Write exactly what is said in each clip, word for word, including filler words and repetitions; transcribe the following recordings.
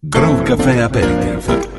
Groove Café Aperitif.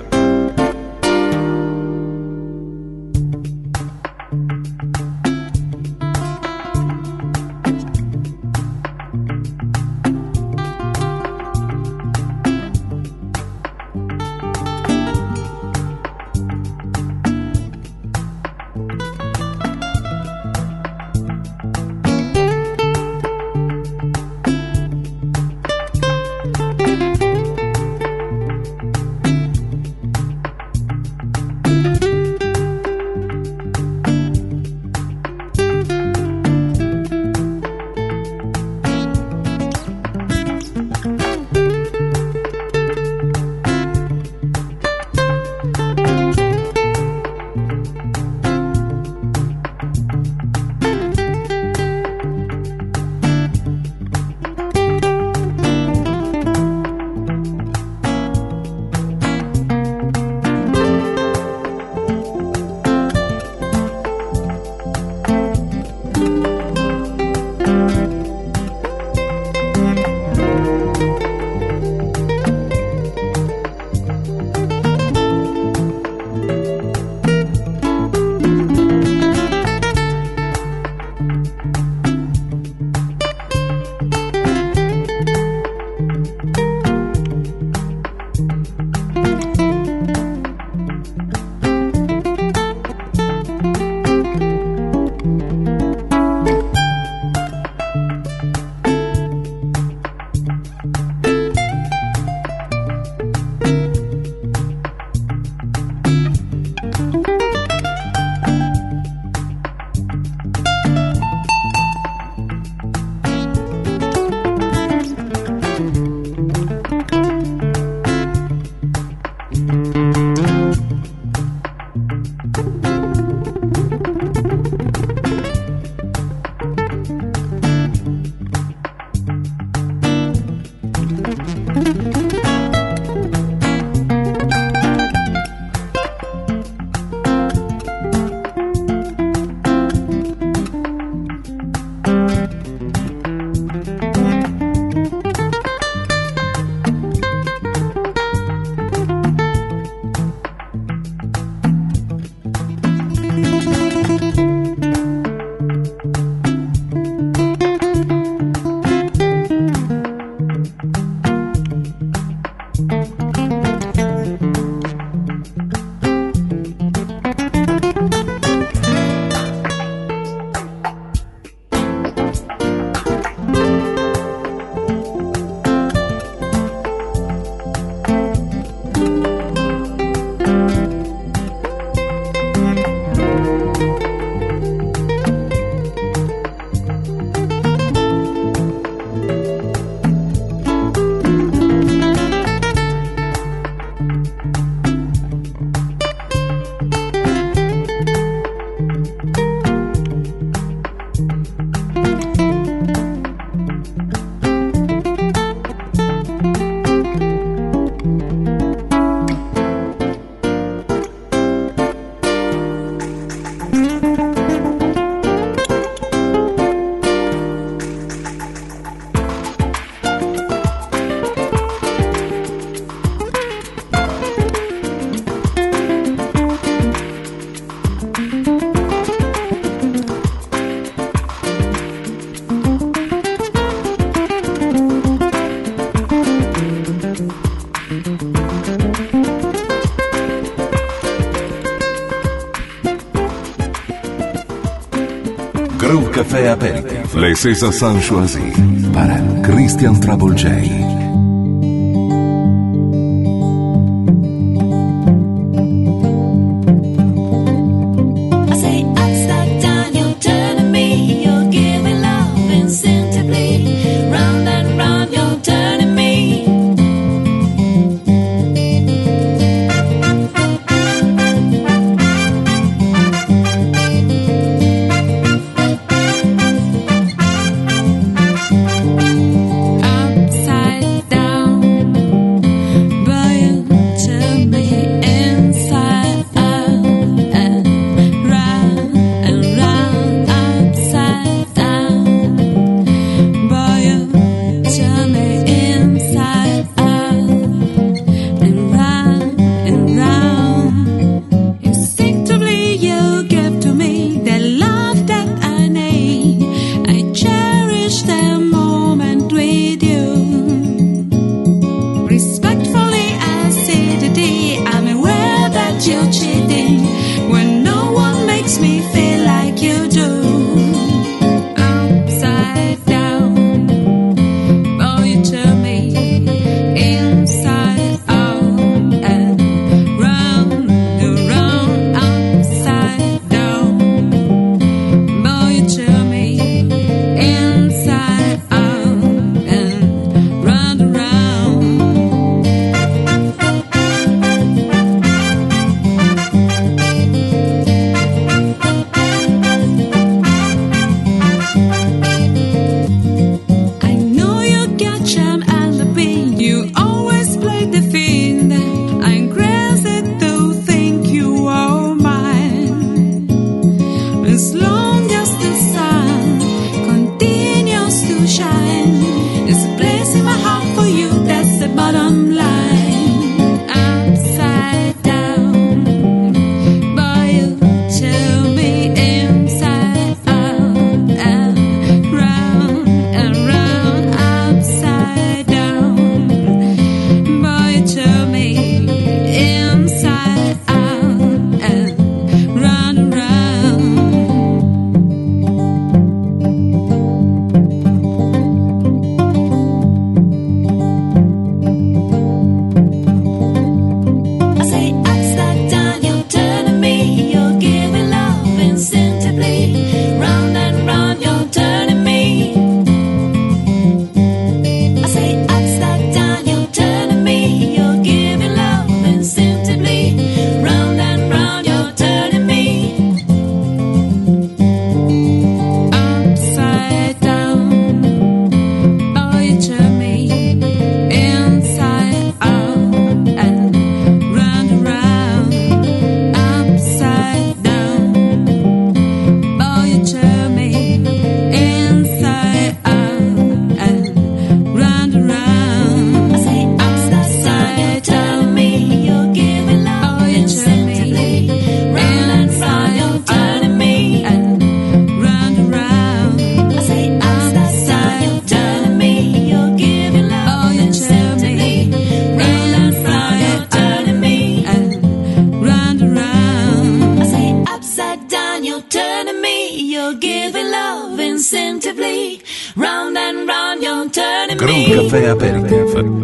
Groove Café Aperitif. Les César sont choisis par Christian Trouble J. Outside Caffè Aperitif.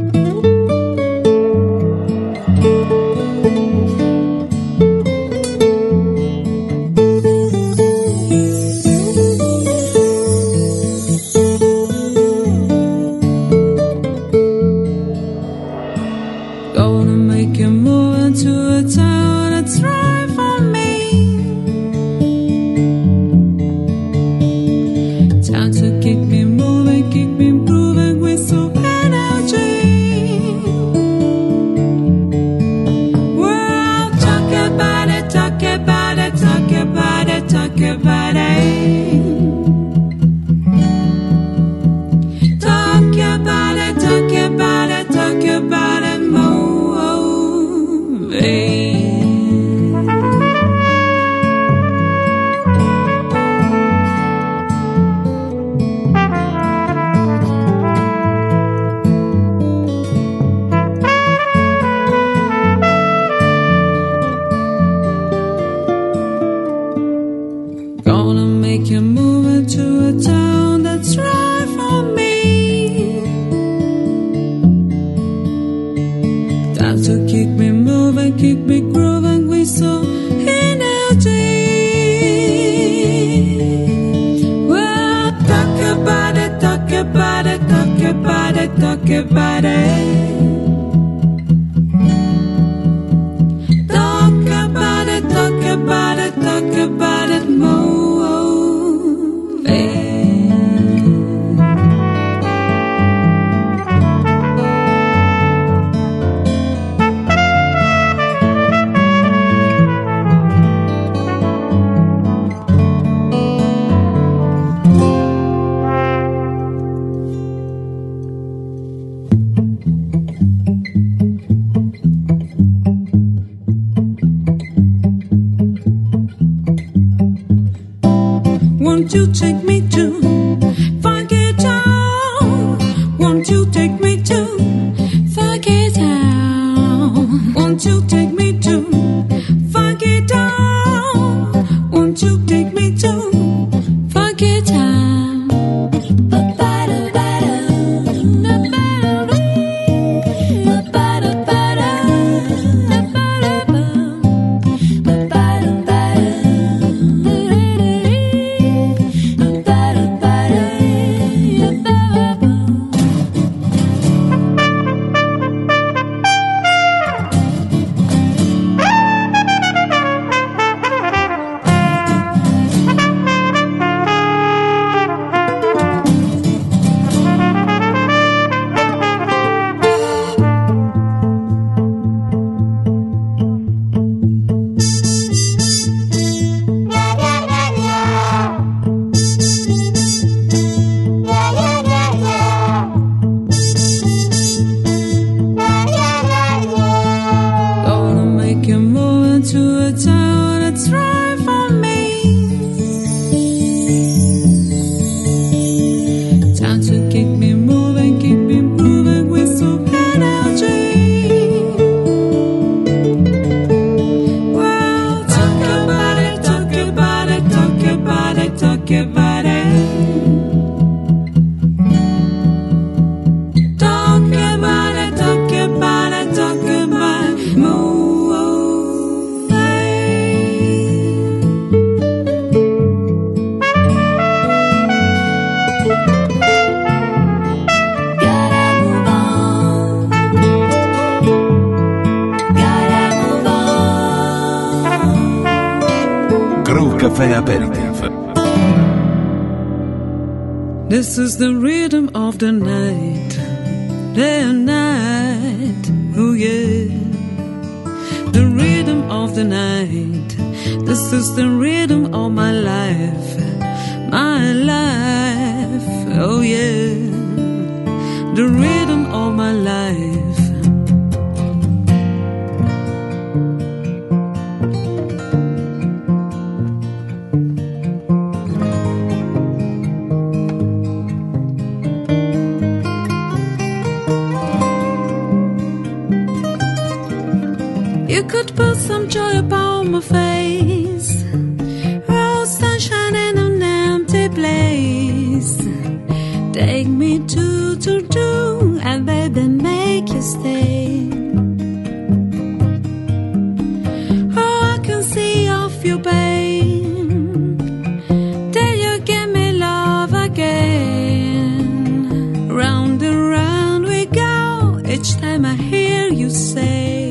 Caffè Aperitif. This is the rhythm of the night, day and night, oh yeah. The rhythm of the night, this is the rhythm of my life, my life, oh yeah. The rhythm of my life. You could put some joy upon my face, rose sunshine in an empty place. Day take me to, to, to, and baby make you stay. Oh, I can see off your pain till you give me love again. Round and round we go each time I hear you say,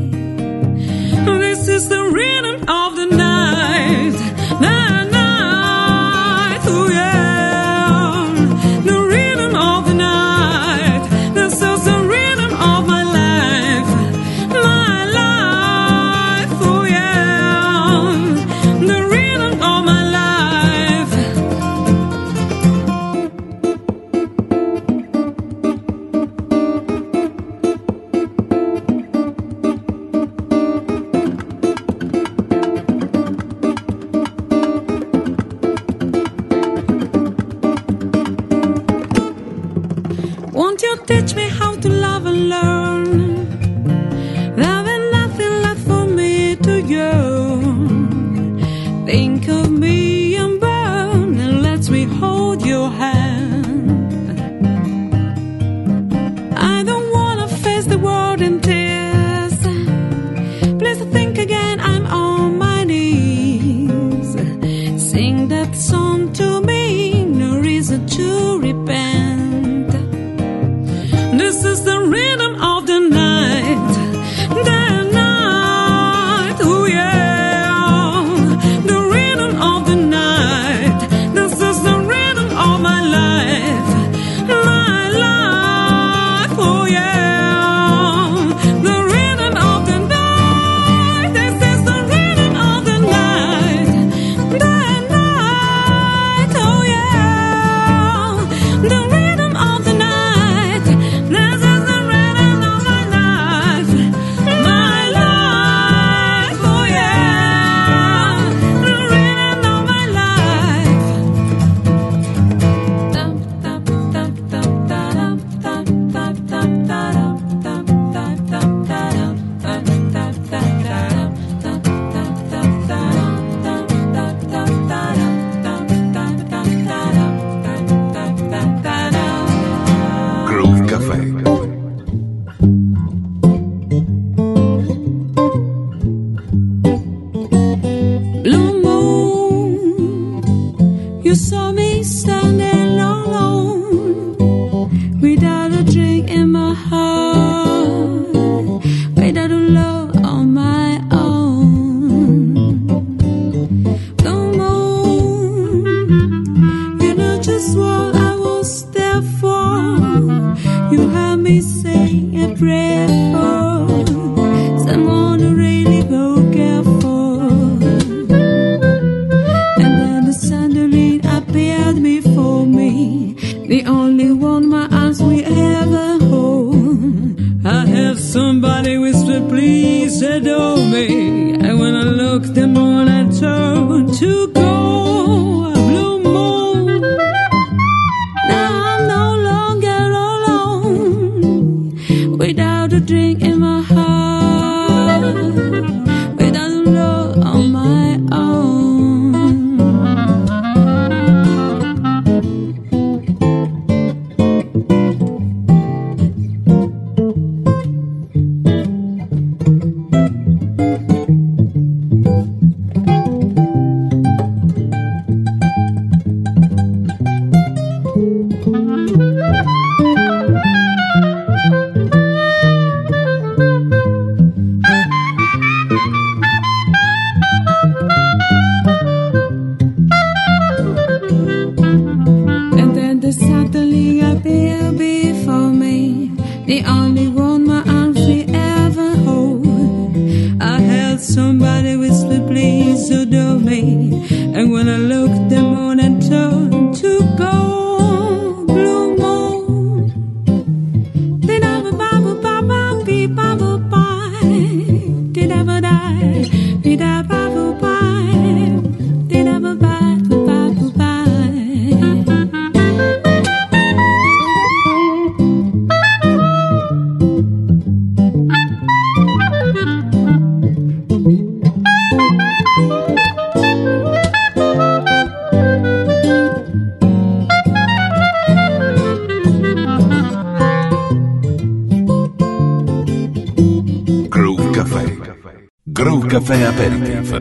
this is the rhythm of the night, the night, oh yeah, the rhythm of the night. This is the rhythm of my life, my life, oh yeah, the rhythm of my life. Won't you teach me how to love and learn? There ain't nothing left for me to yearn. Think of me and burn, and let me hold your hand. I don't wanna face the world in tears. Please think again, I'm on my knees. Sing that song to me, no reason to repent. This is the rhythm of the night, the night, oh yeah, the rhythm of the night. This is the rhythm of my life, my life, oh yeah, the rhythm of the night. This is the rhythm of the night, the night, oh yeah, the rhythm of the night. This is the rhythm of my life, my life, oh yeah, the rhythm of my life. Dum dum dum dum dum dum dum dum dum dum dum dum Groove Café. Blue moon, you saw me standing alone, without a drink in my heart, without a love on my own. Blue moon, you know just what I was there for. You heard me say a prayer for someone to really go care for. And then suddenly appeared before me, the only one my arms will ever hold. I heard somebody whisper, please adore me. And when I looked, the moon I turned to go. A blue moon, now I'm no longer alone, without a drink in my heart, without a love on my own. And then the suddenly appeared before me, the only one my arms will ever hold. I held somebody whisper, please adore me. And when I looked, the moon and turned to gold. Blue moon, did I ba ba ba ba be ba ba bye? Did I ba die? Did I ba ba bye? Did I ba ba ba ba bye? Café. Groove Café Aperitif.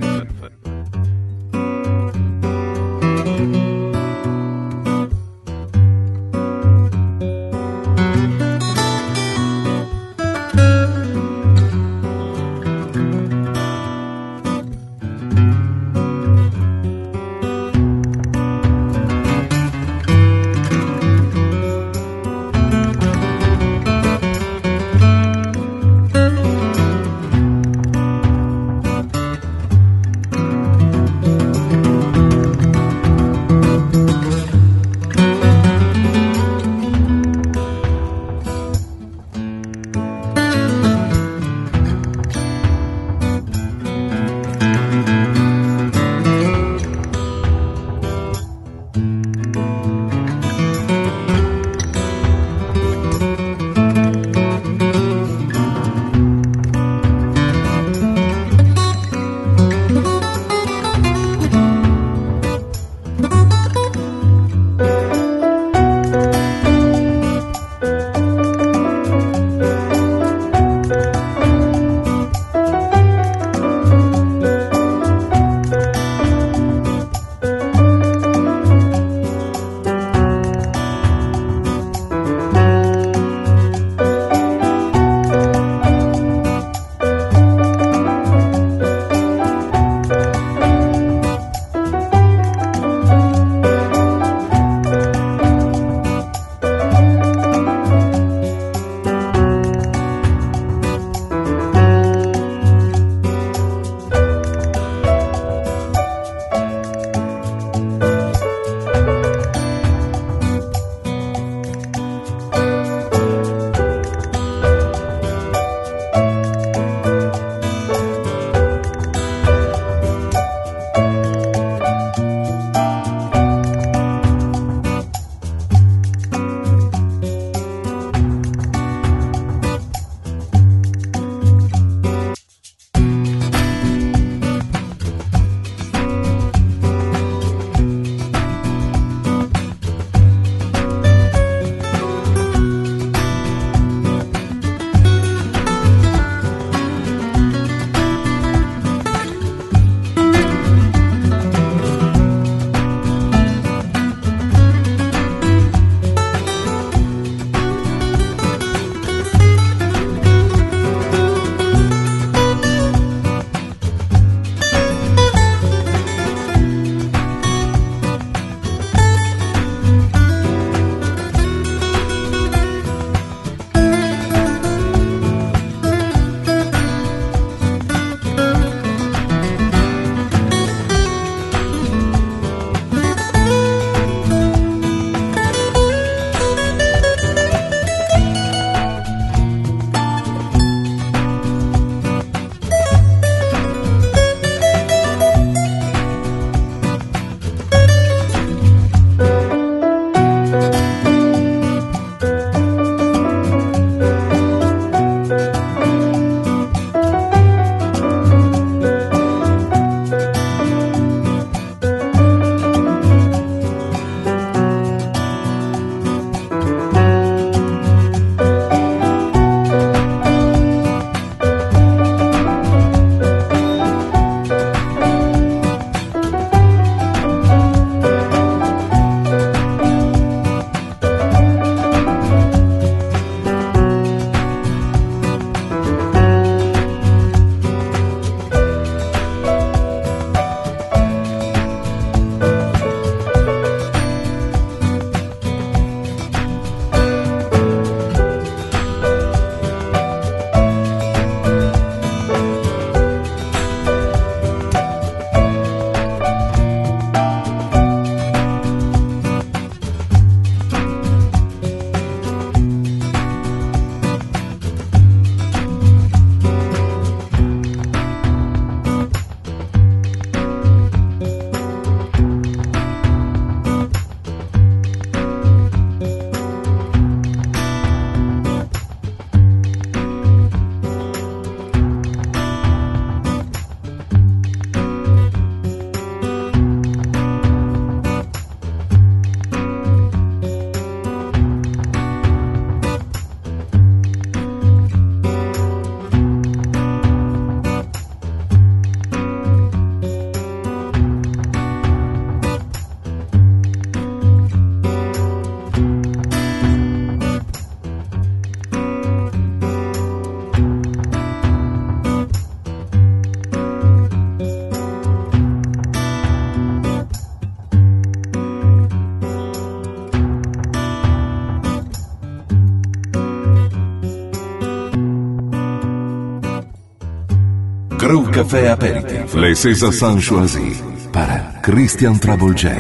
Groove Café Aperitif. Les César San choisis para Christian Trouble J.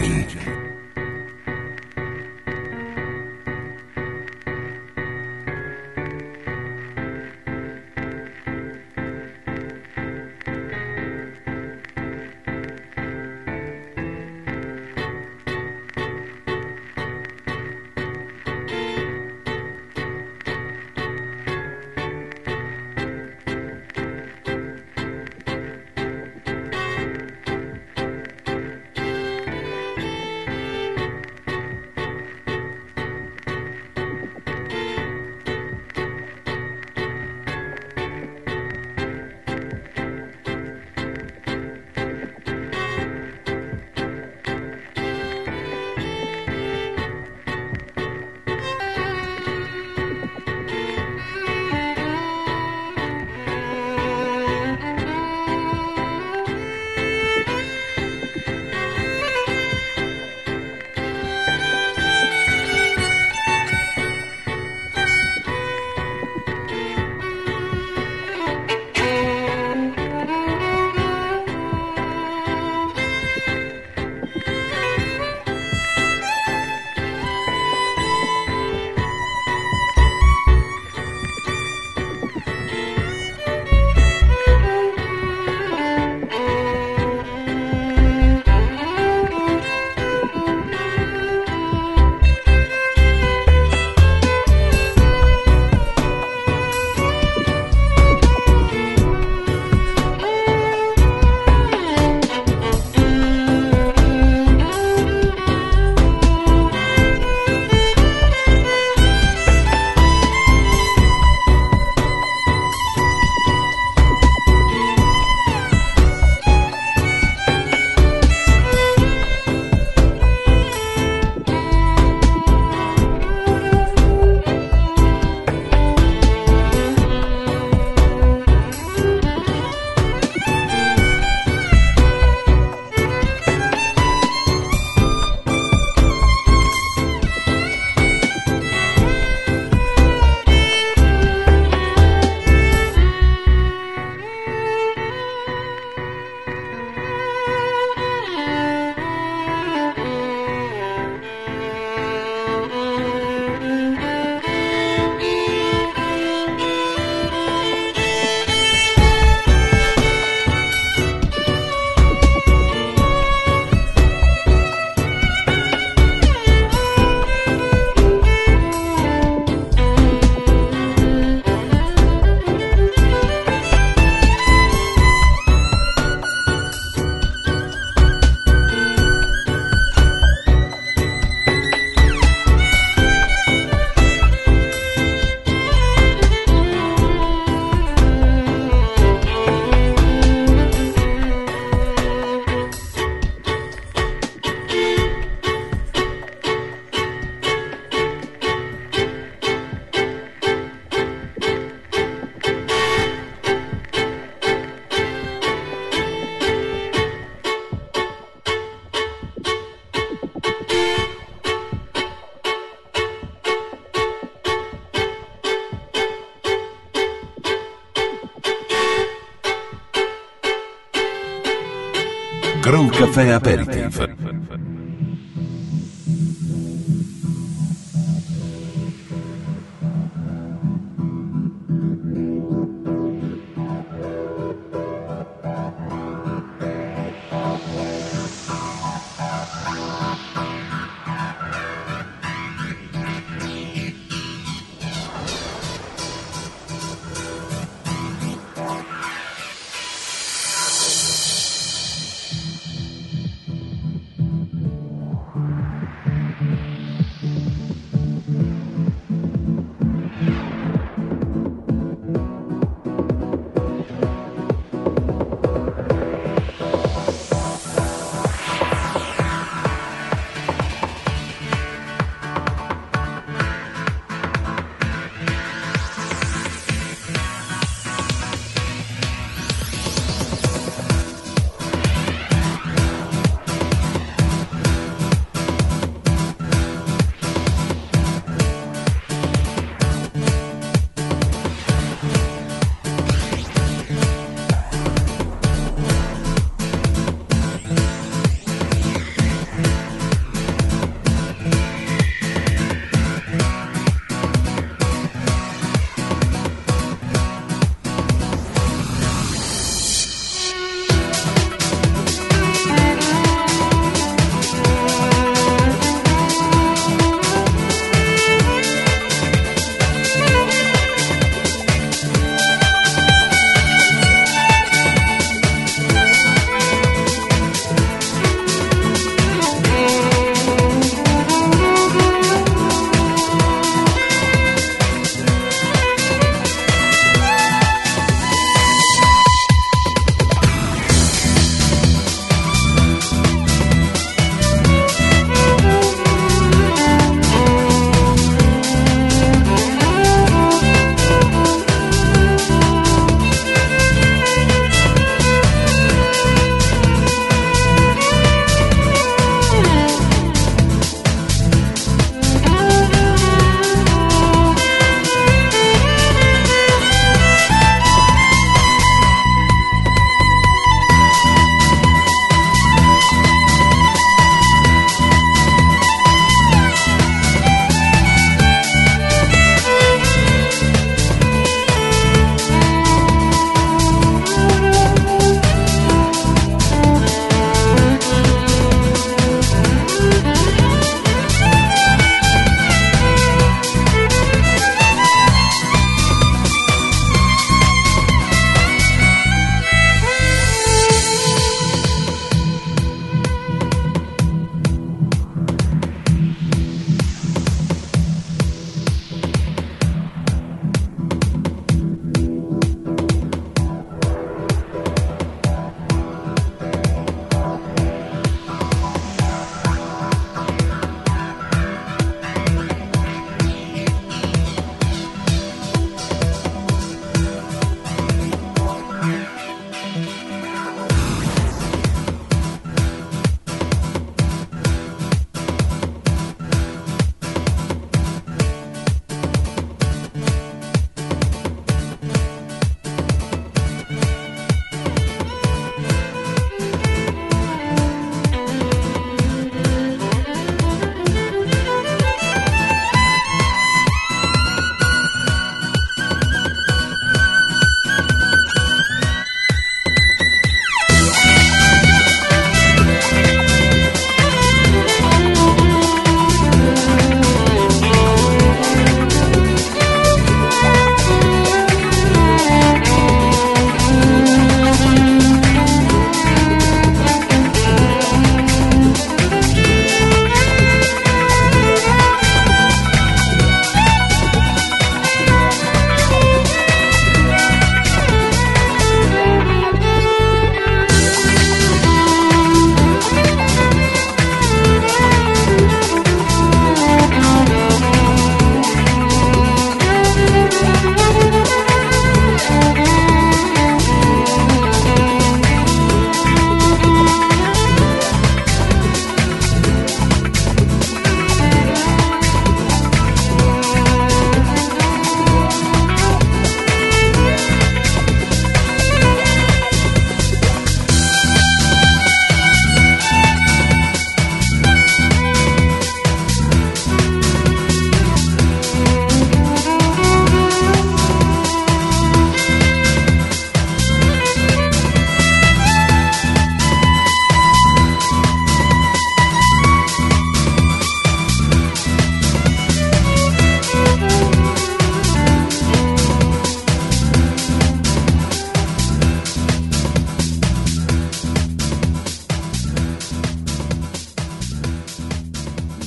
Groove Café Aperitif.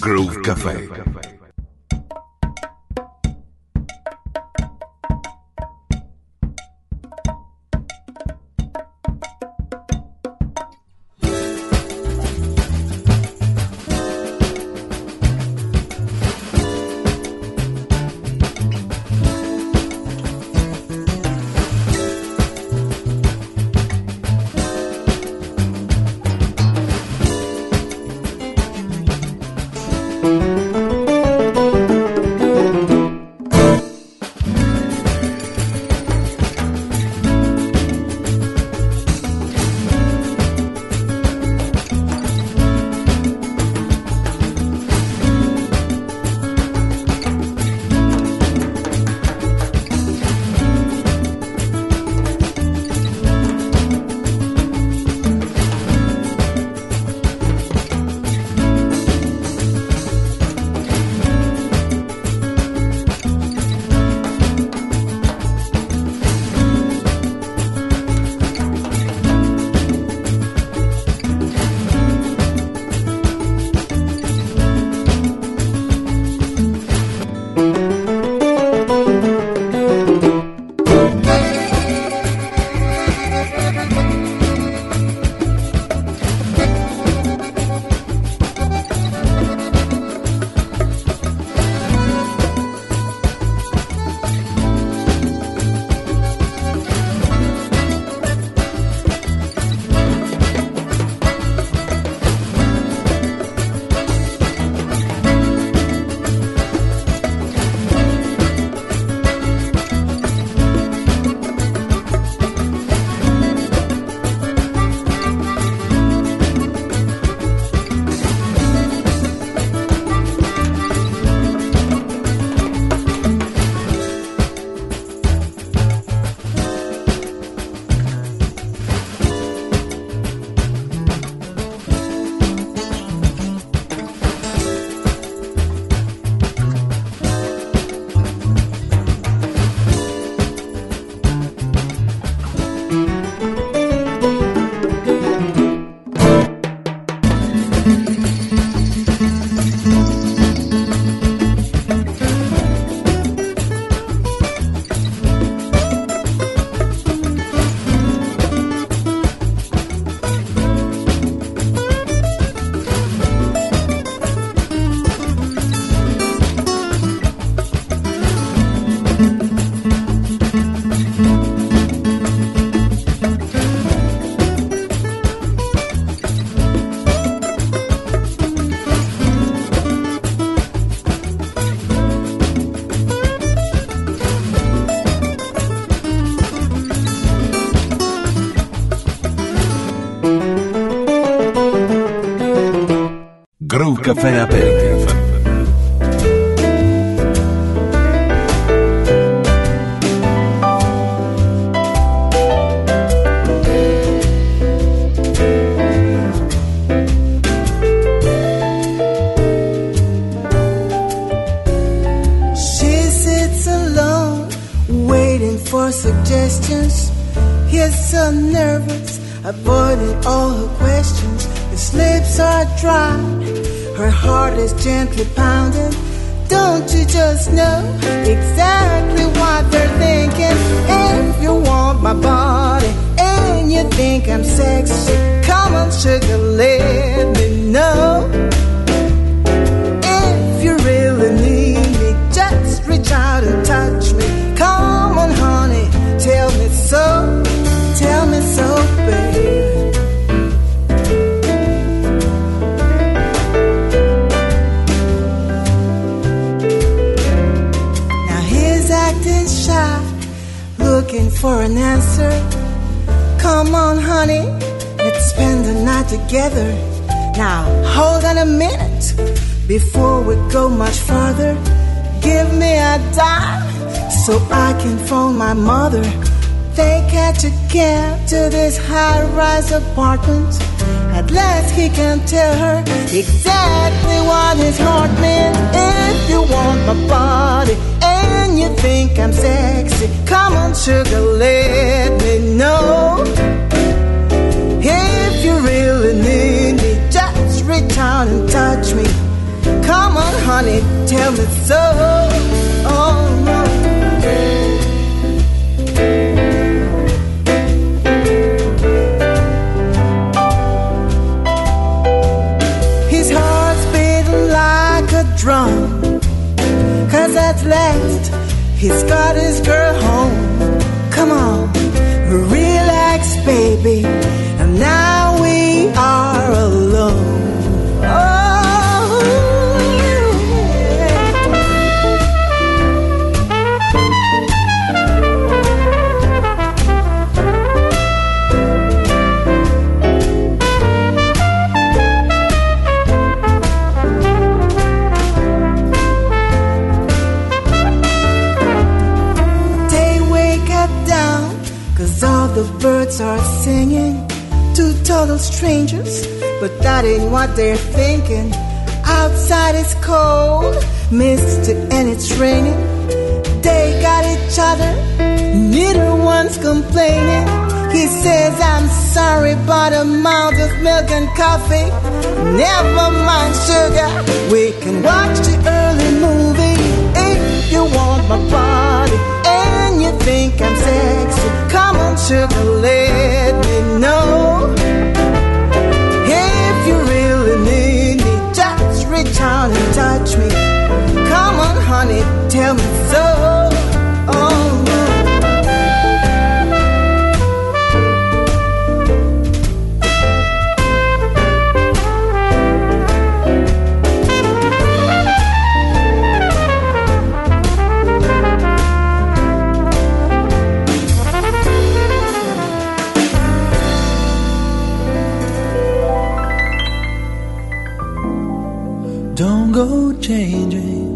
Groove Café. Groove Café Aperitif. For suggestions, he's so nervous, avoiding all her questions. His lips are dry, her heart is gently pounding. Don't you just know exactly what they're thinking? If you want my body and you think I'm sexy, come on sugar, let me know. If you really need me, just reach out and touch me. Come on, honey, tell me so, tell me so, baby. Now he's acting shy, looking for an answer. Come on, honey, let's spend the night together. Now, hold on a minute, before we go much further. Give me a dime, so I can phone my mother. They catch a cab to this high-rise apartment. At last he can tell her exactly what his heart meant. If you want my body and you think I'm sexy, come on sugar, let me know. If you really need me, just reach out and touch me. Come on, honey, tell me so. Oh, no. His heart's beating like a drum, 'cause at last he's got his girl home. Come on, relax, baby, and now we are alone. Oh, yeah. They wake up down, 'cause all the birds are singing. Two total strangers, but that ain't what they're thinking. Outside it's cold, misty, and it's raining. They got each other, neither one's complaining. He says, I'm sorry, but amount of milk and coffee. Never mind sugar, we can watch the early movie. If you want my body and you think I'm sexy, come on sugar, let me know. If you really need me, just reach out and touch me. Come on honey, tell me so. Oh no. Don't go changing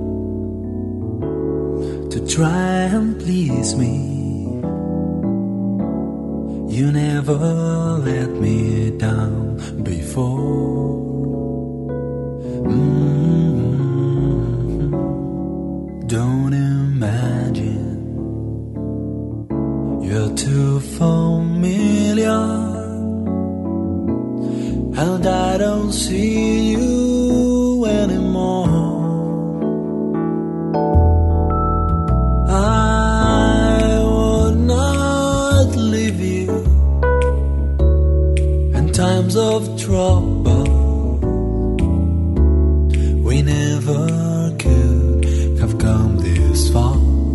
to try and please me. You never let me down before. Mm-hmm. Don't imagine you're too familiar, and I don't see you anymore. I would not leave you in times of trouble. We never could have come this far.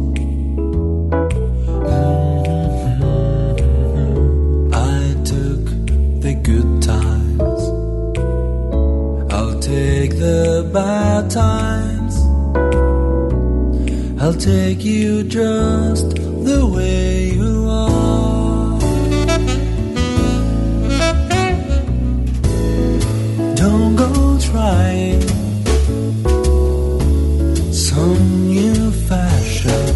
Mm-hmm. I took the good times, I'll take the bad times. I'll take you just the way you are. Don't go trying some new fashion.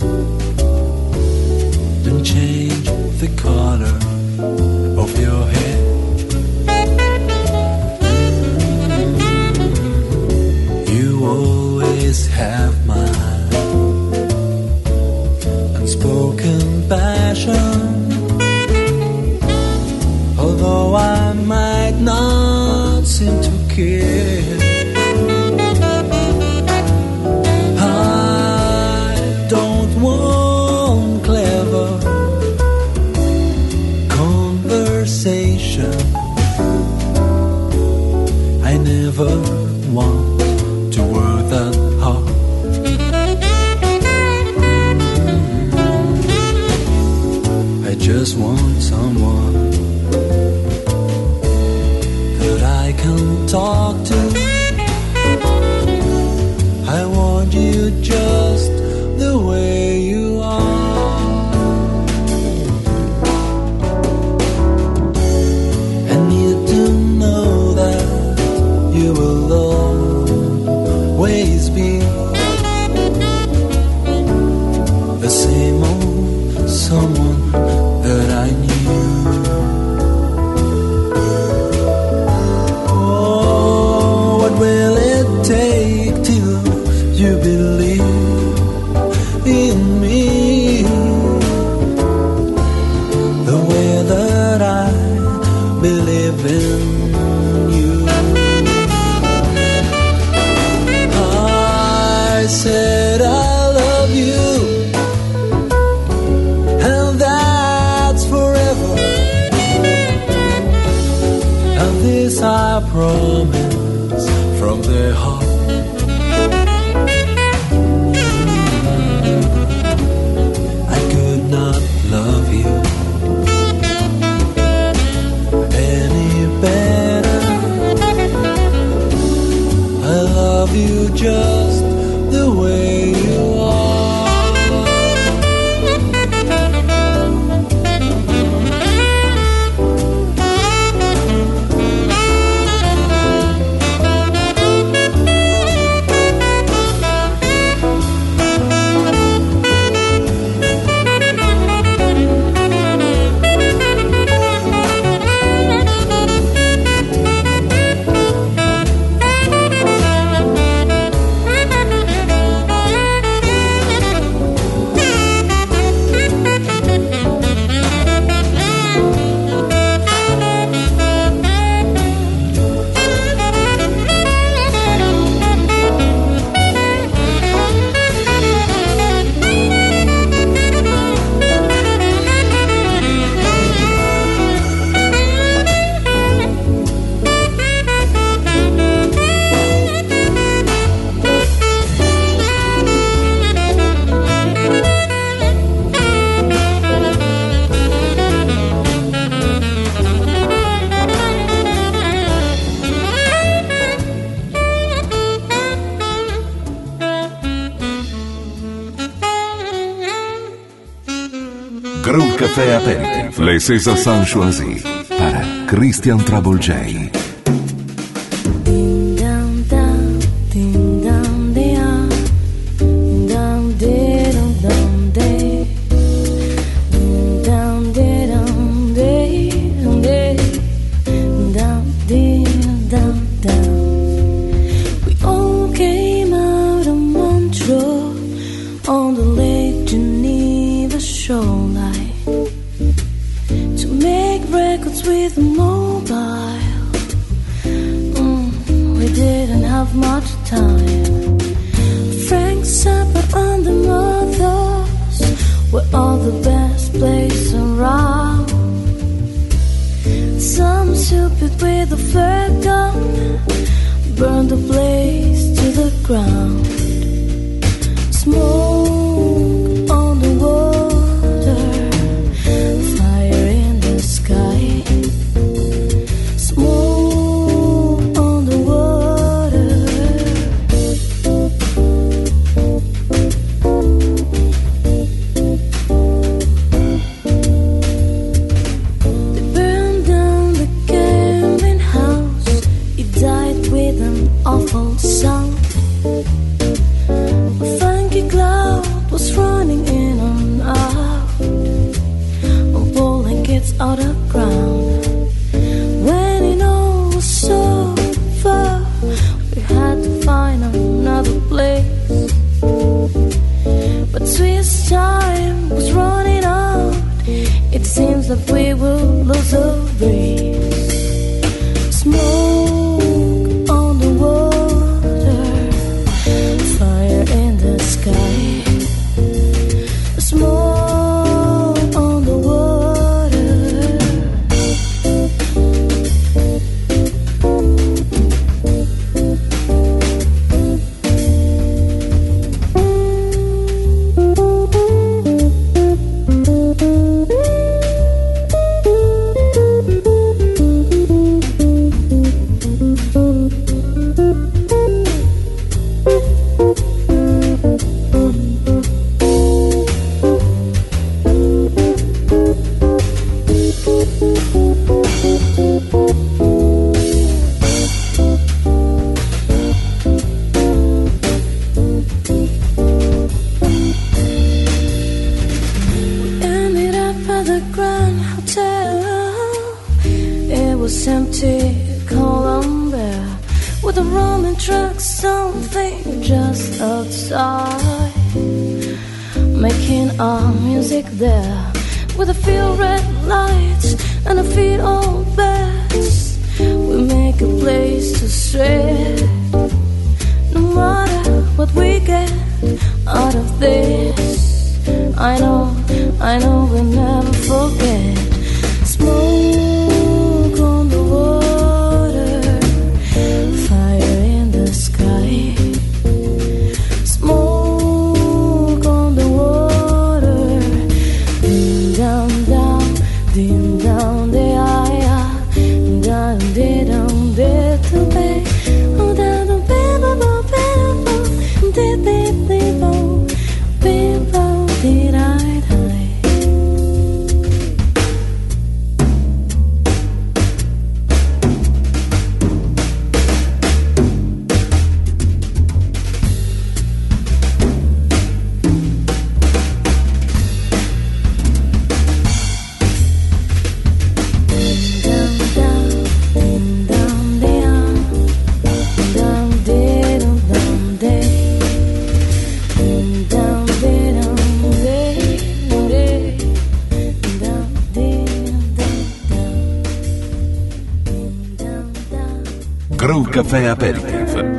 Don't change the color of your hair. Always have my unspoken passion, although I might not seem to care. I don't want clever conversation. I never want to work that hard. I just want someone that I can talk to. I want you just the way you are. I need to know that you will always be the same old someone that I knew. Oh, what will it take till you believe a promise from the heart. I could not love you any better. I love you just the way you are. Groove Café Aperitif, les César Saint choisis para Christian Trouble J. I know, I know we'll never forget. Smoke on the water. Ding dong, de ai ah, dong de dong de to be, oh da dong be bo bo be bo, de de de bo, be bo de ai dai. Groove Café Aperitif.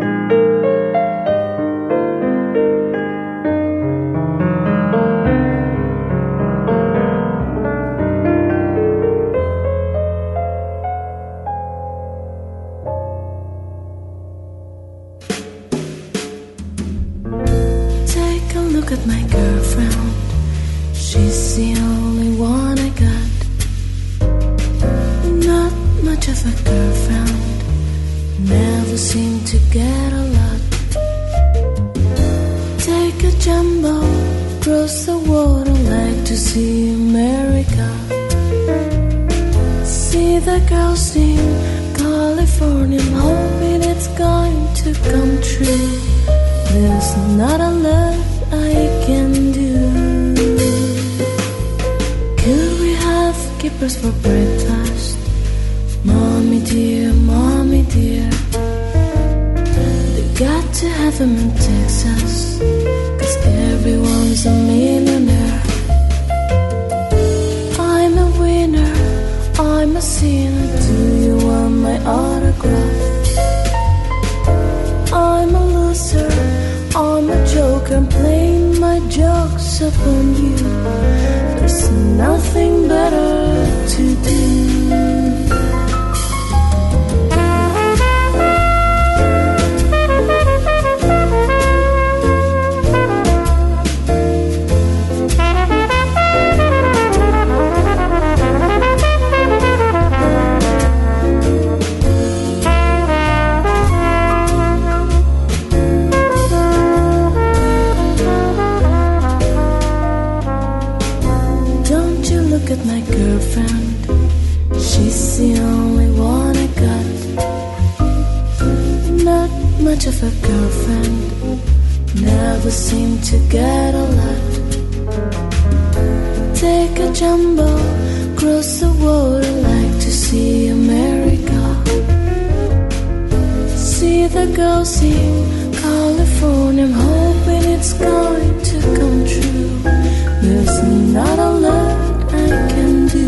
Take a look at my girlfriend. She's the only one I got. Not much of a girlfriend. Never seem to get a lot. Take a jumbo, cross the water, like to see America. See the girls in California, I'm hoping it's going to come true. There's not a lot I can do. Could we have kippers for breakfast? Mommy dear, mommy dear, they got to have them in Texas, 'cause everyone's a millionaire. I'm a winner, I'm a sinner, do you want my autograph? I'm a loser, I'm a joker, I'm playing my jokes upon you. There's nothing better to do. At my girlfriend, she's the only one I got. Not much of a girlfriend, never seem to get a lot. Take a jumbo, cross the water, like to see America. See the girls in California, I'm hoping it's going to come true. There's not a lot I can do.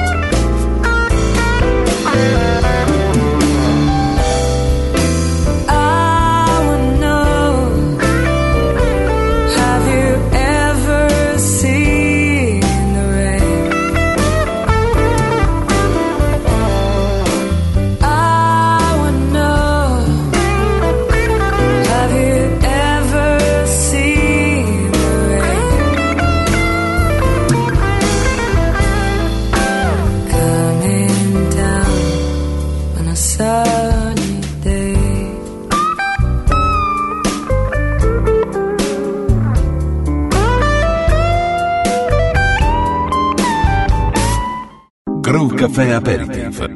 I caffè aperitif.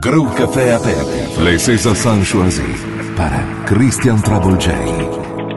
Crew Café Aperitif. Les César San choisis para Christian Trouble J.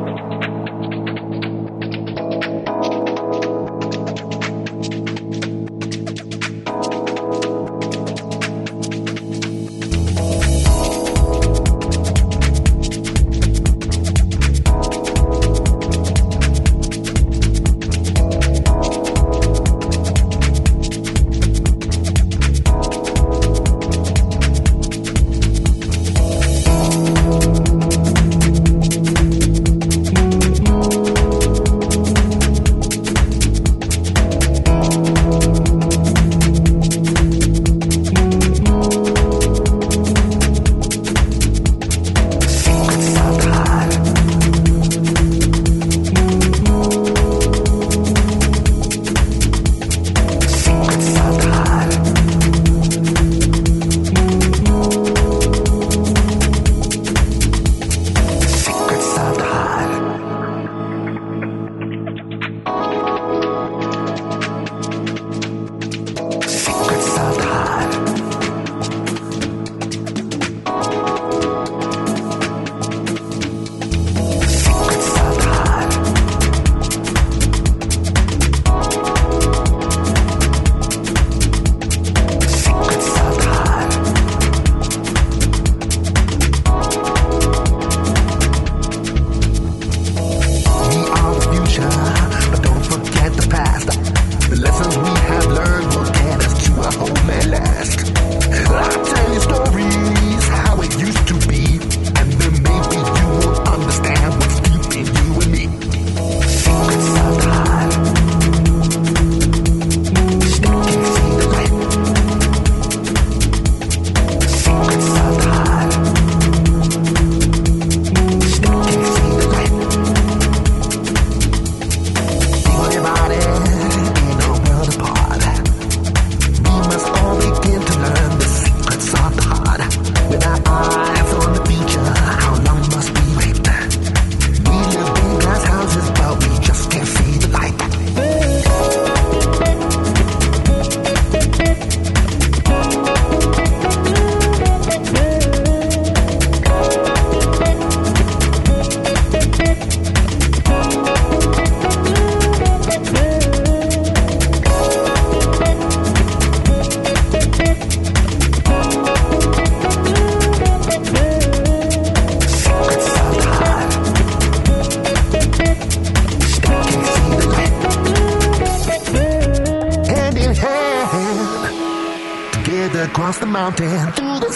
across the mountain, through the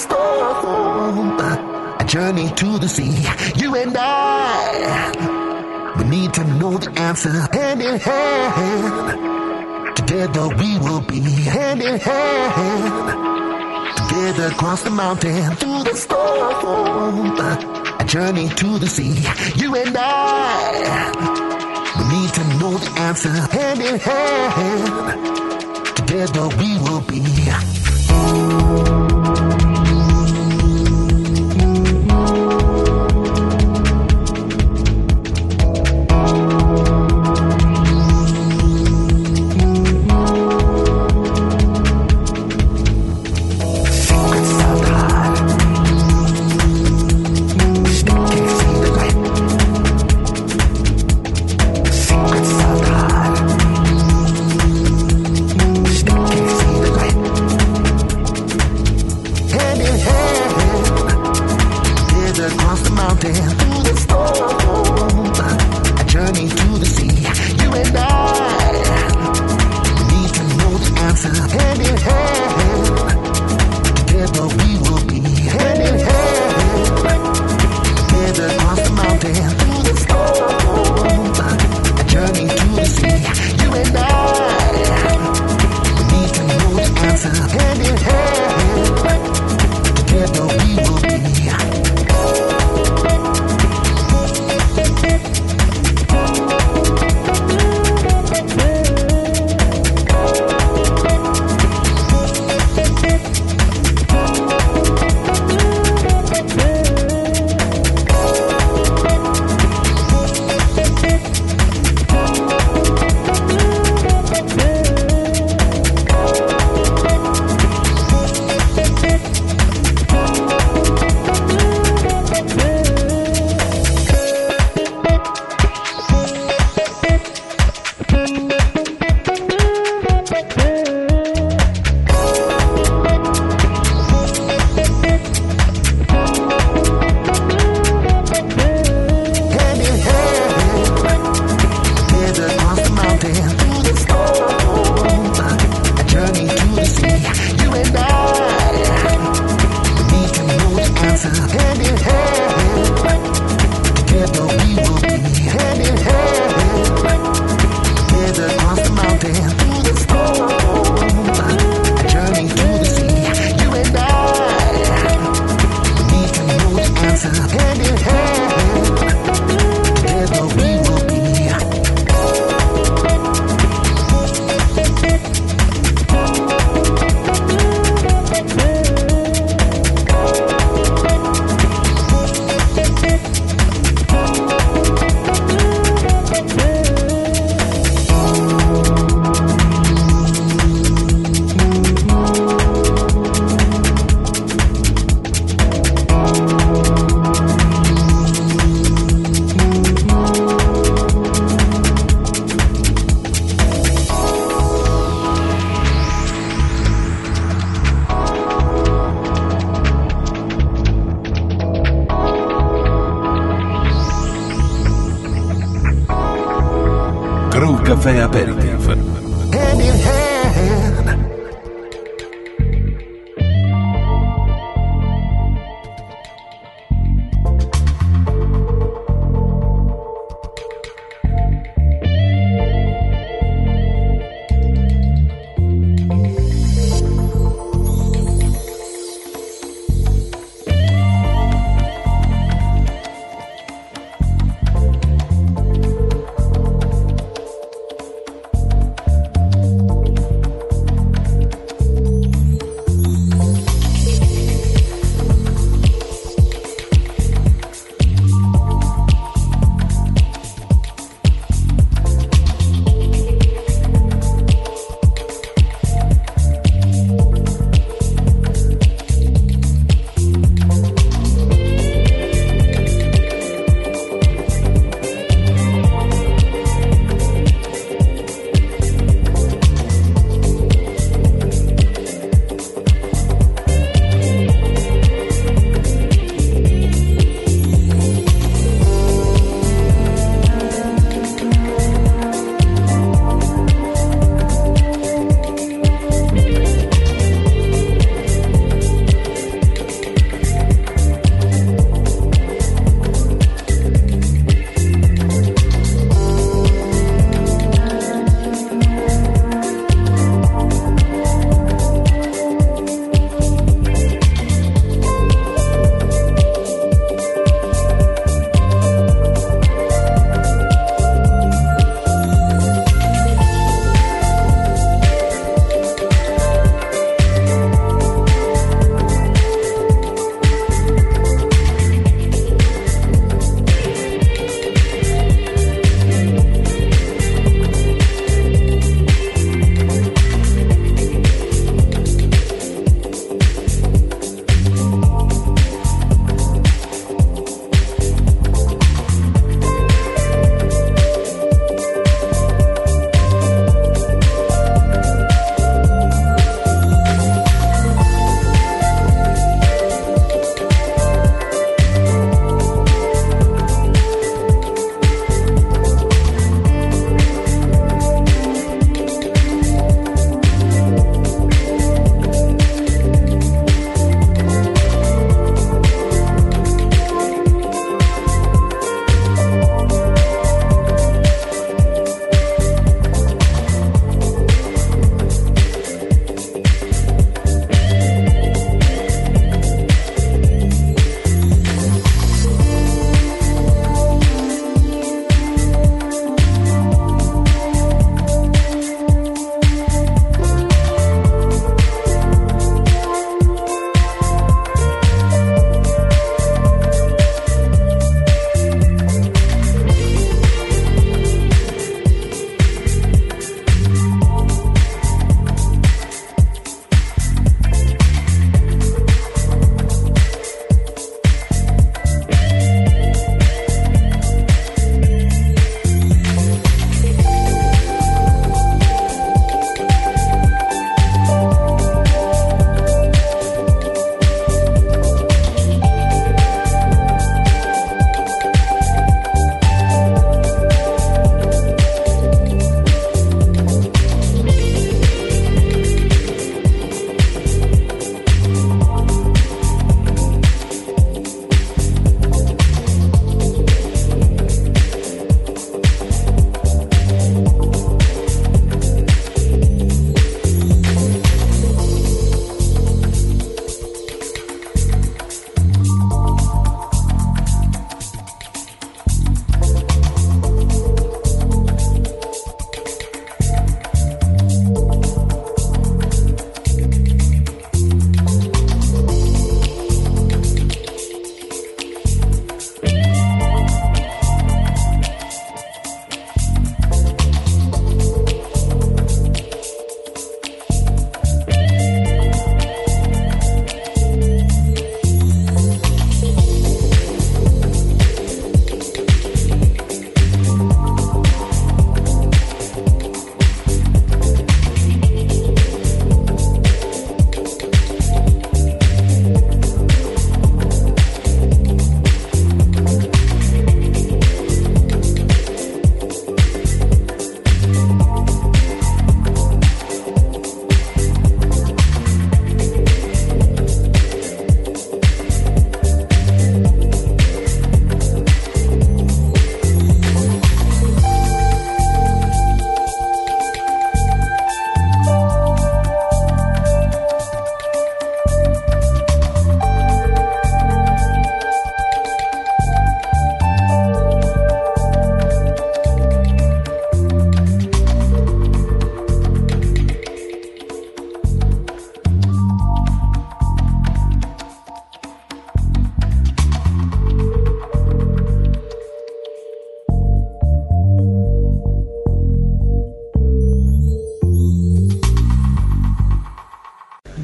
storm, a journey to the sea. You and I, we need to know the answer. Hand in hand, together we will be. Hand in hand, together across the mountain, through the storm, a journey to the sea. You and I, we need to know the answer. Hand in hand, together we will be. answer hand in hand. Together we will be hand in hand. Together across the mountain, through the storm, a journey through the sea. You and I need to know the answer hand in hand. Together we will be. Caffè Aperitif. Hand in hand.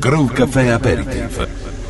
Groove Café Aperitif.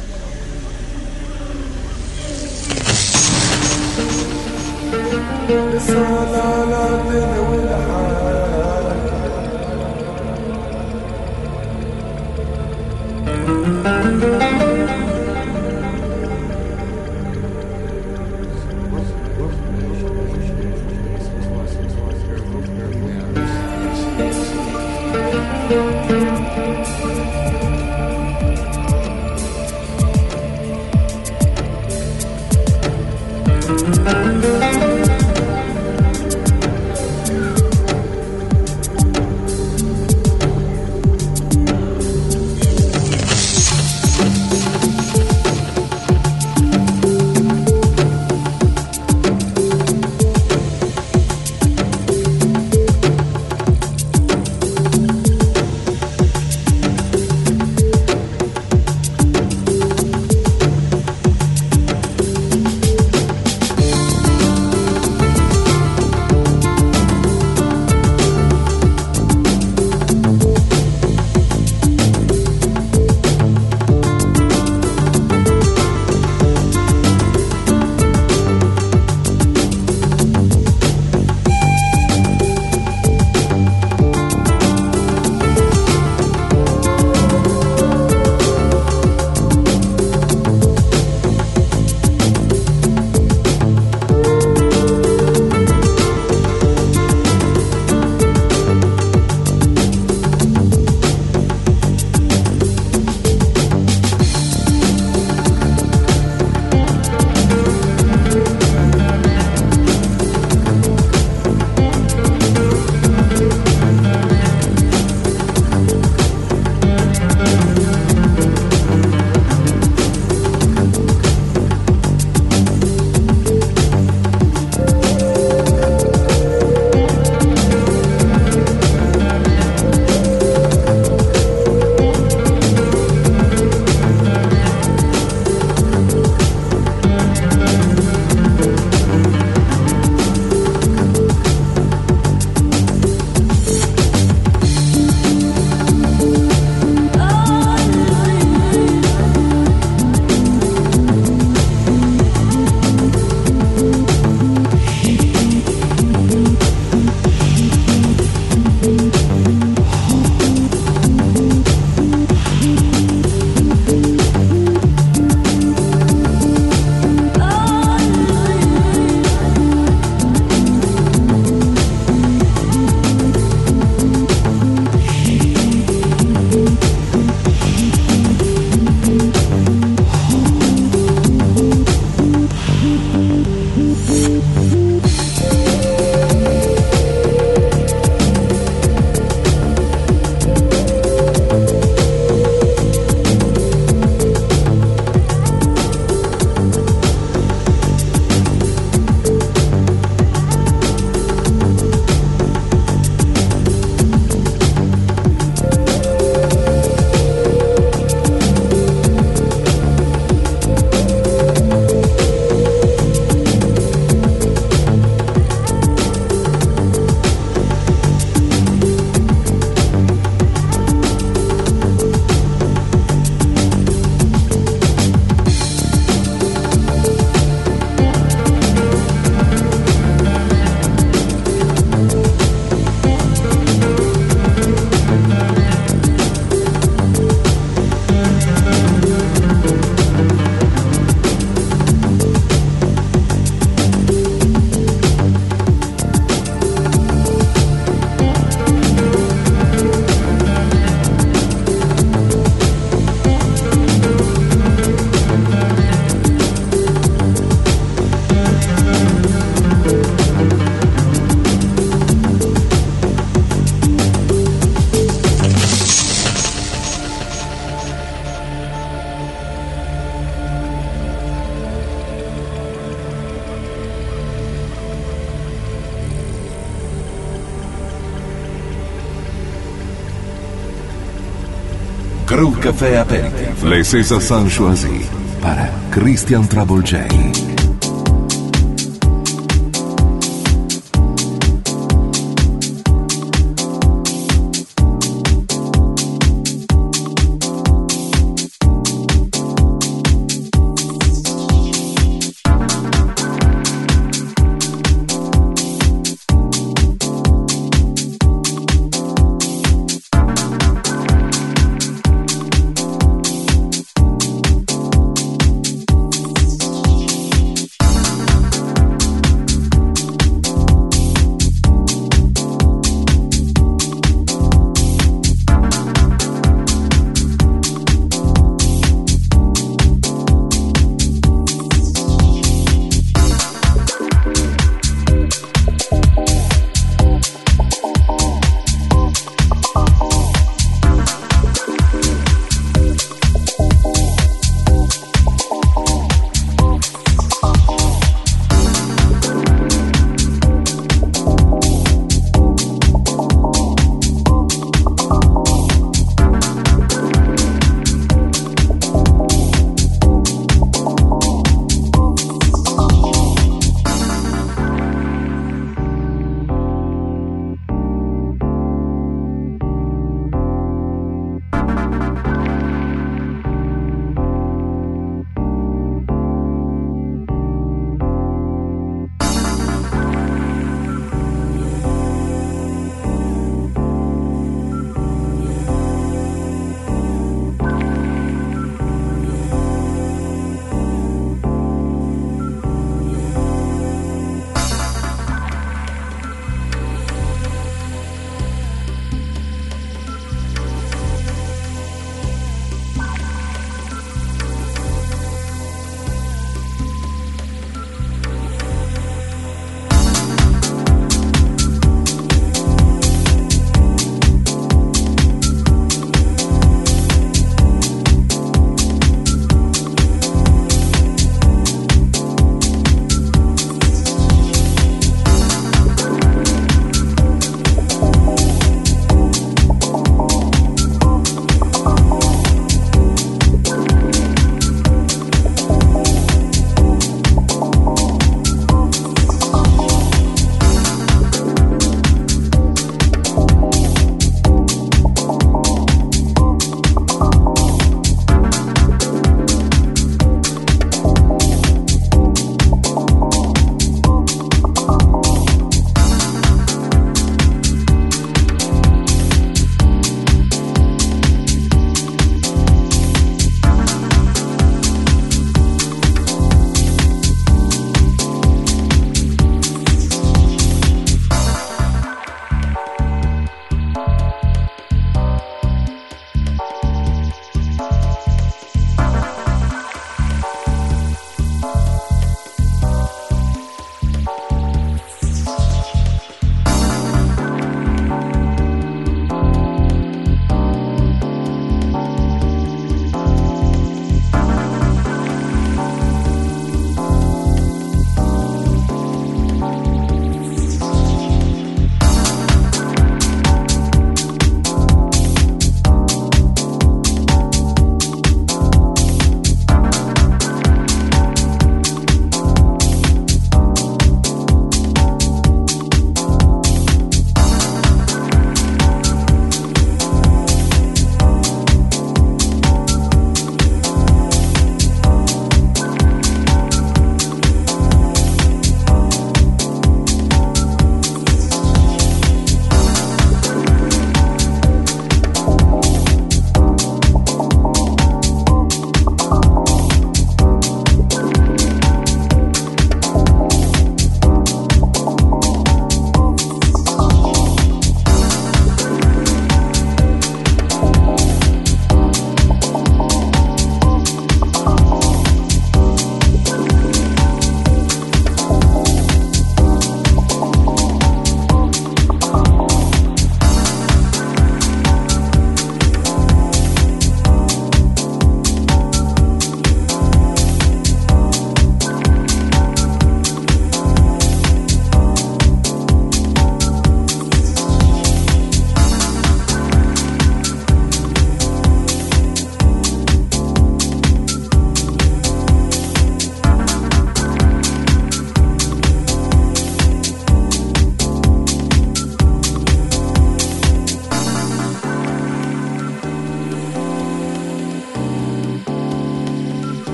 Groove Café Aperitif. Les César choisis para Christian Trouble J.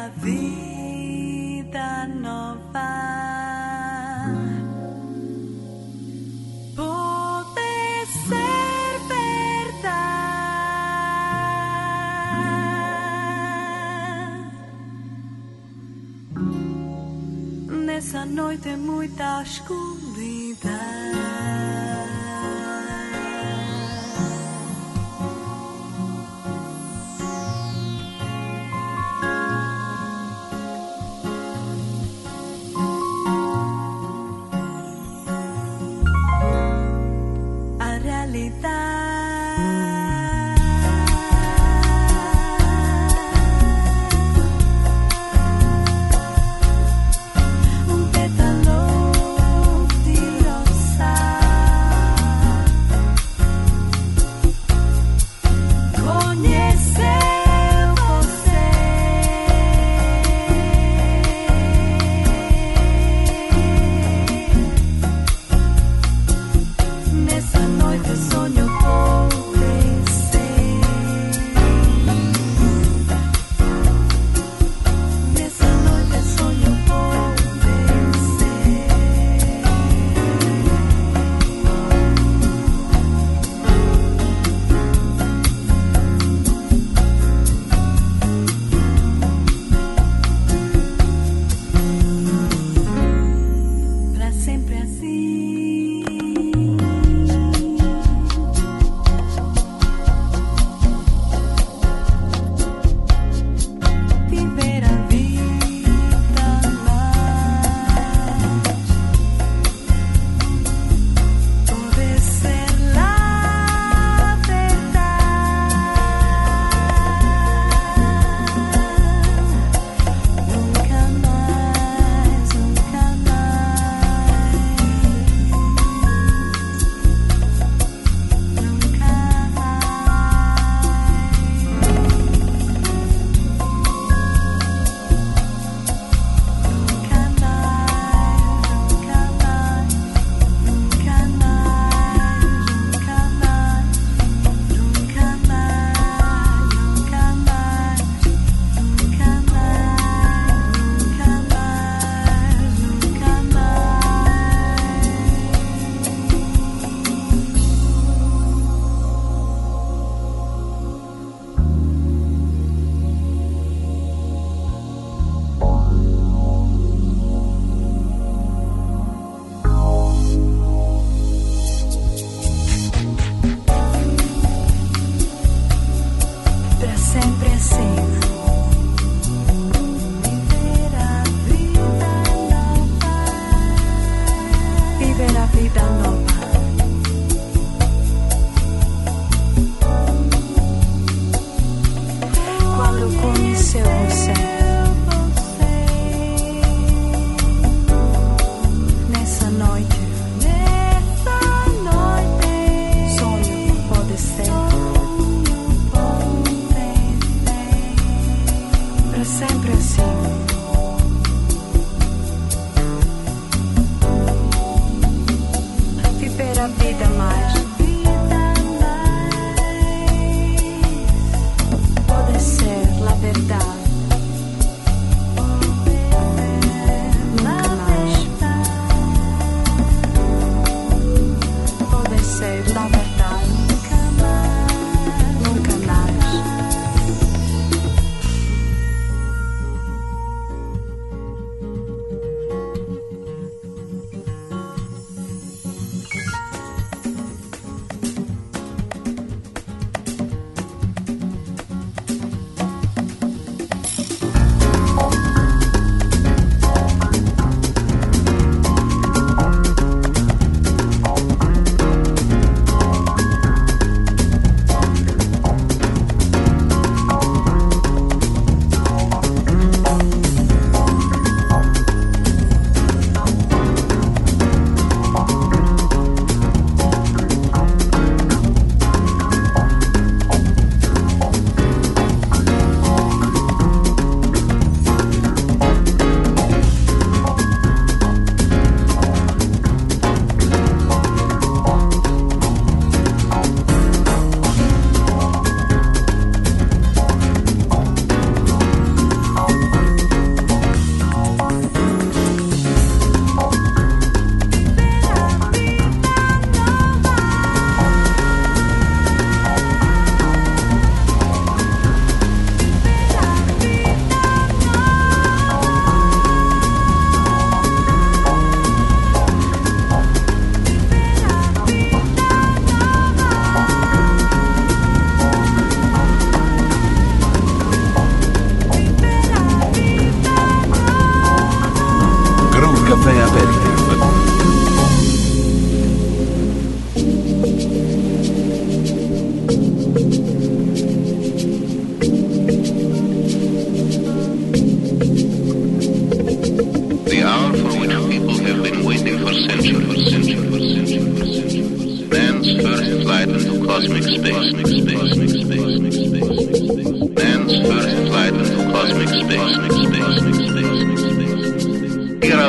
a vida nova. Pode ser verdade. Nessa noite muita escuridão.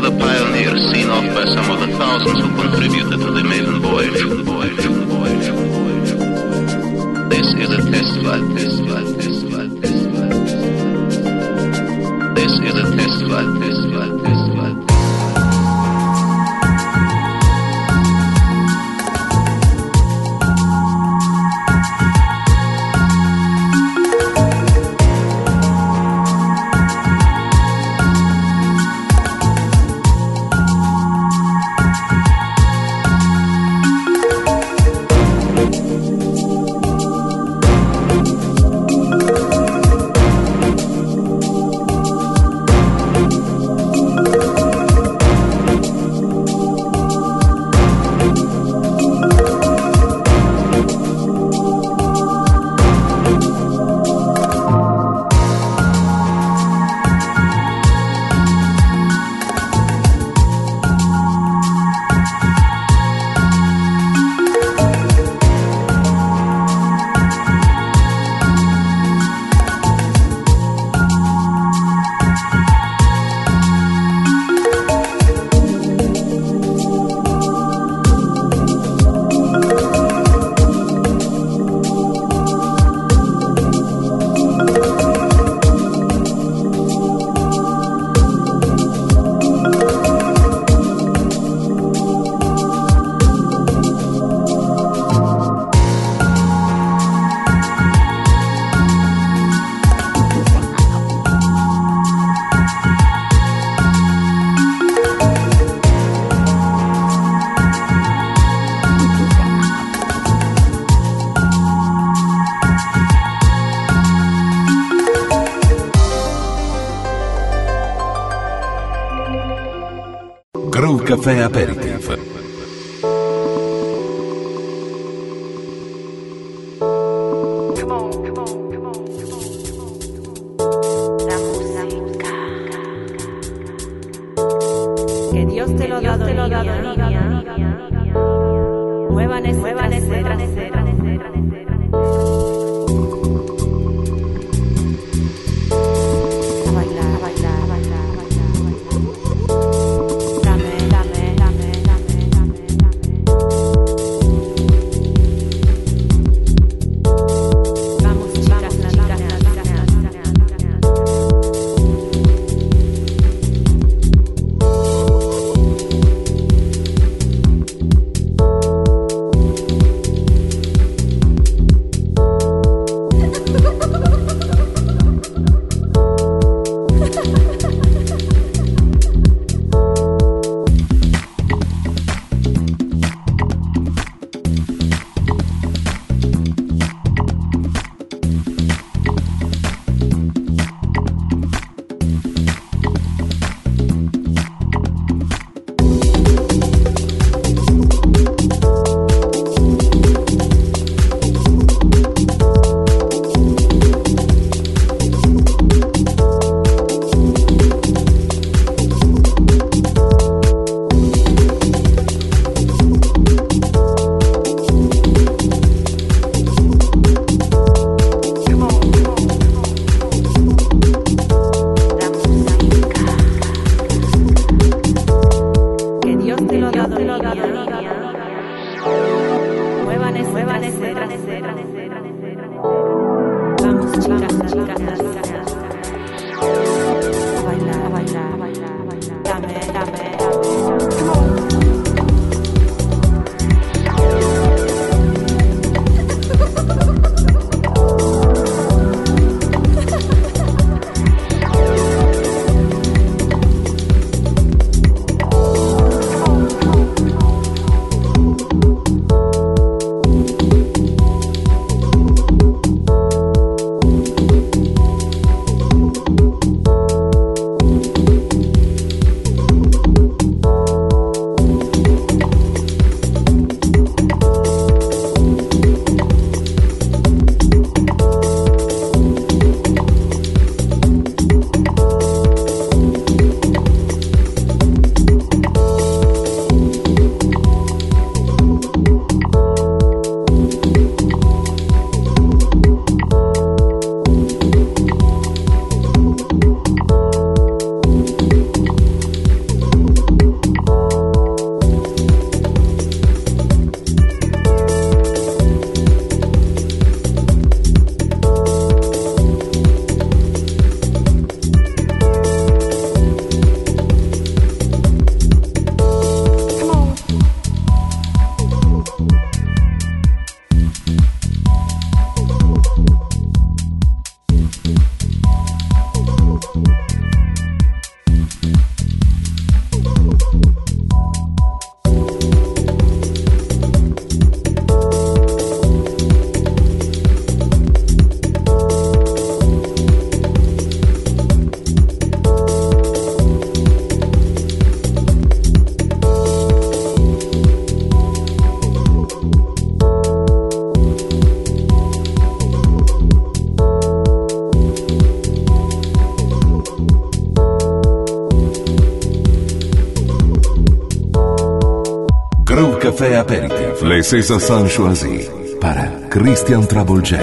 the pioneer seen off by some of the thousands who contributed to the maiden voyage. This is a test flight, test flight, test flight, test flight. This is a test flight, test flight, test flight. Groove Café Aperitif. Que Dios te lo da, te lo da, niña. Muevan ese, muevan ese trasero. A bailar, a bailar, a bailar, a bailar. Dame, dame, dame, dame, dame, dame. Vamos, chicas, chicas, a bailar, a bailar, a bailar. Dame, dame, dame. Café Aperitif. Les César Saint Choisi para Christian Trouble J.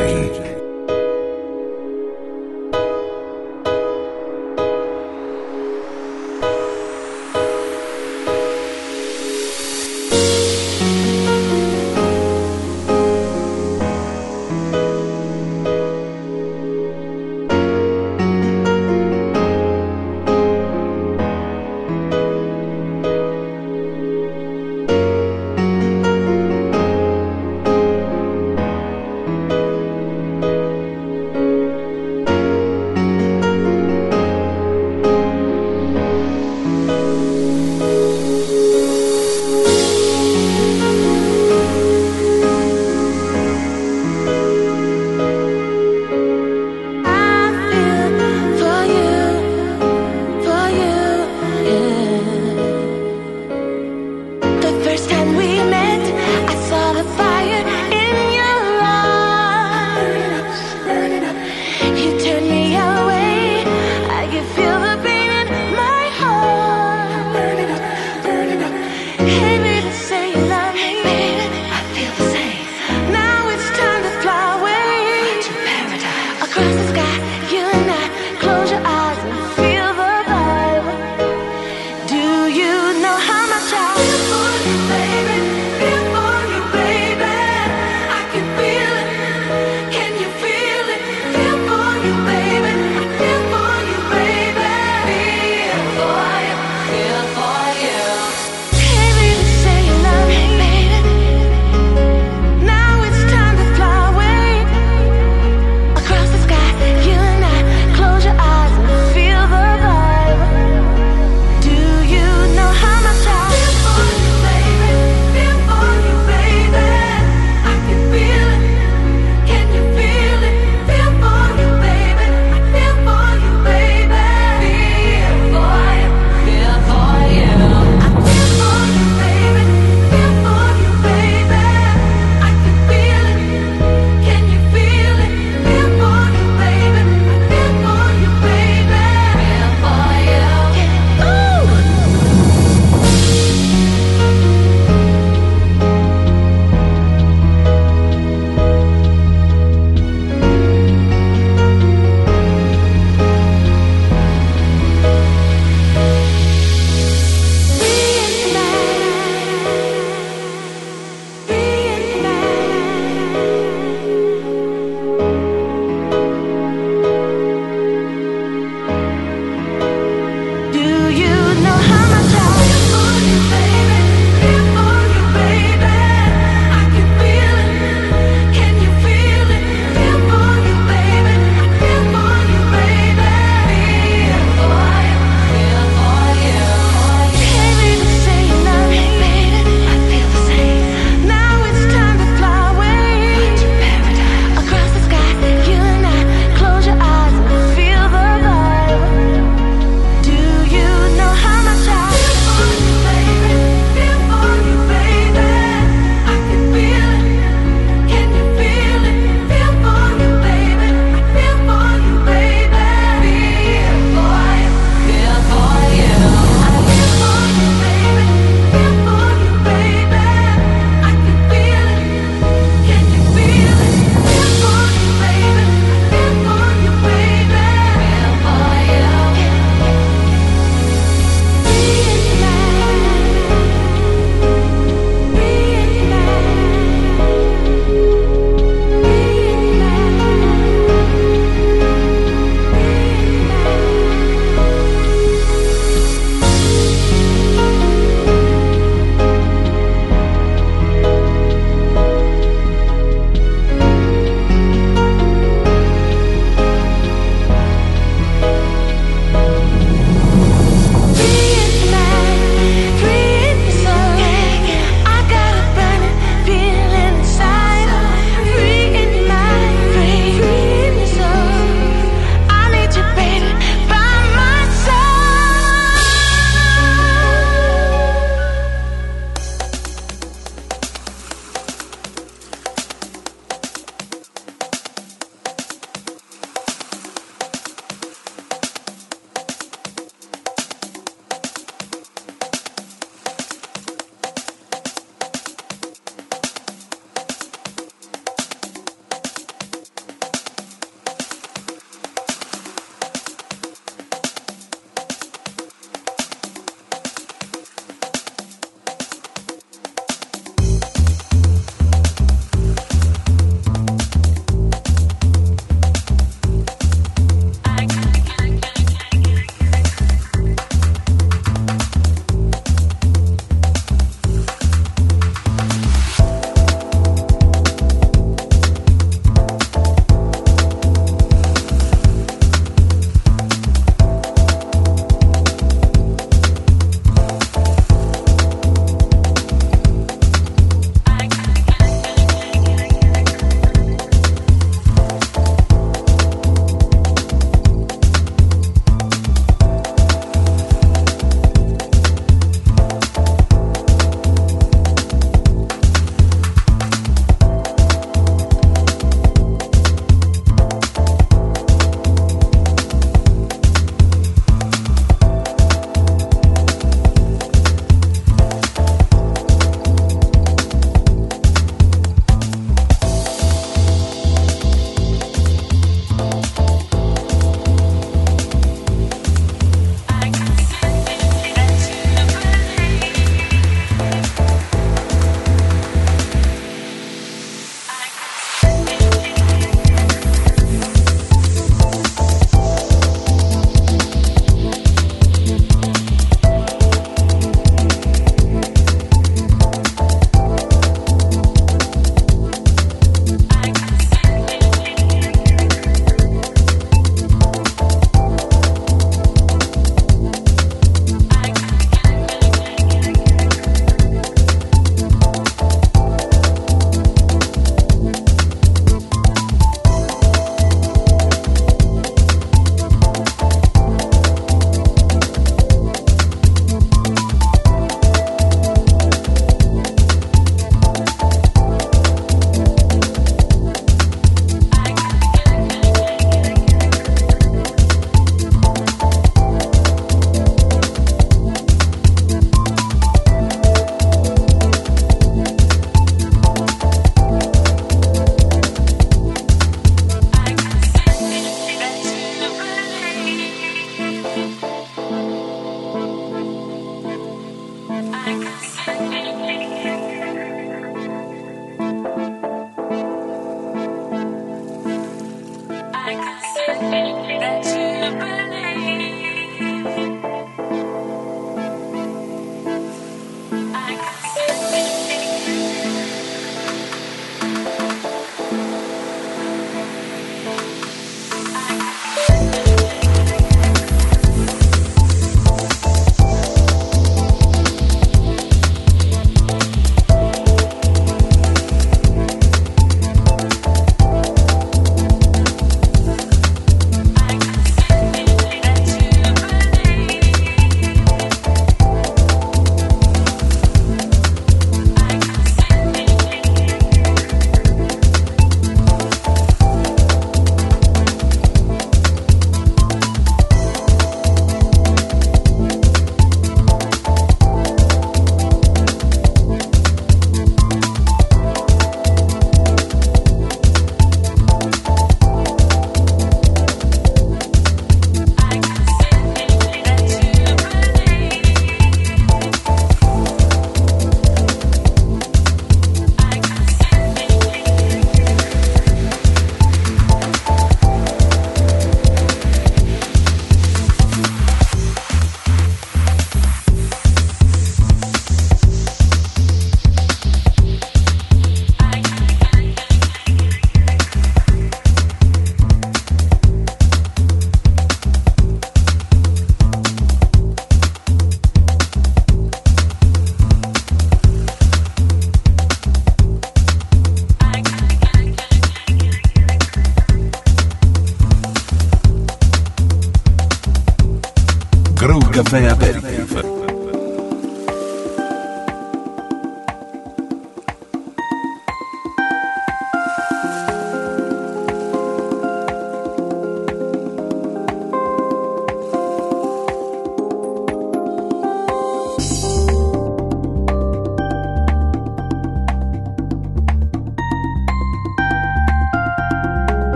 Caffè Aperitif.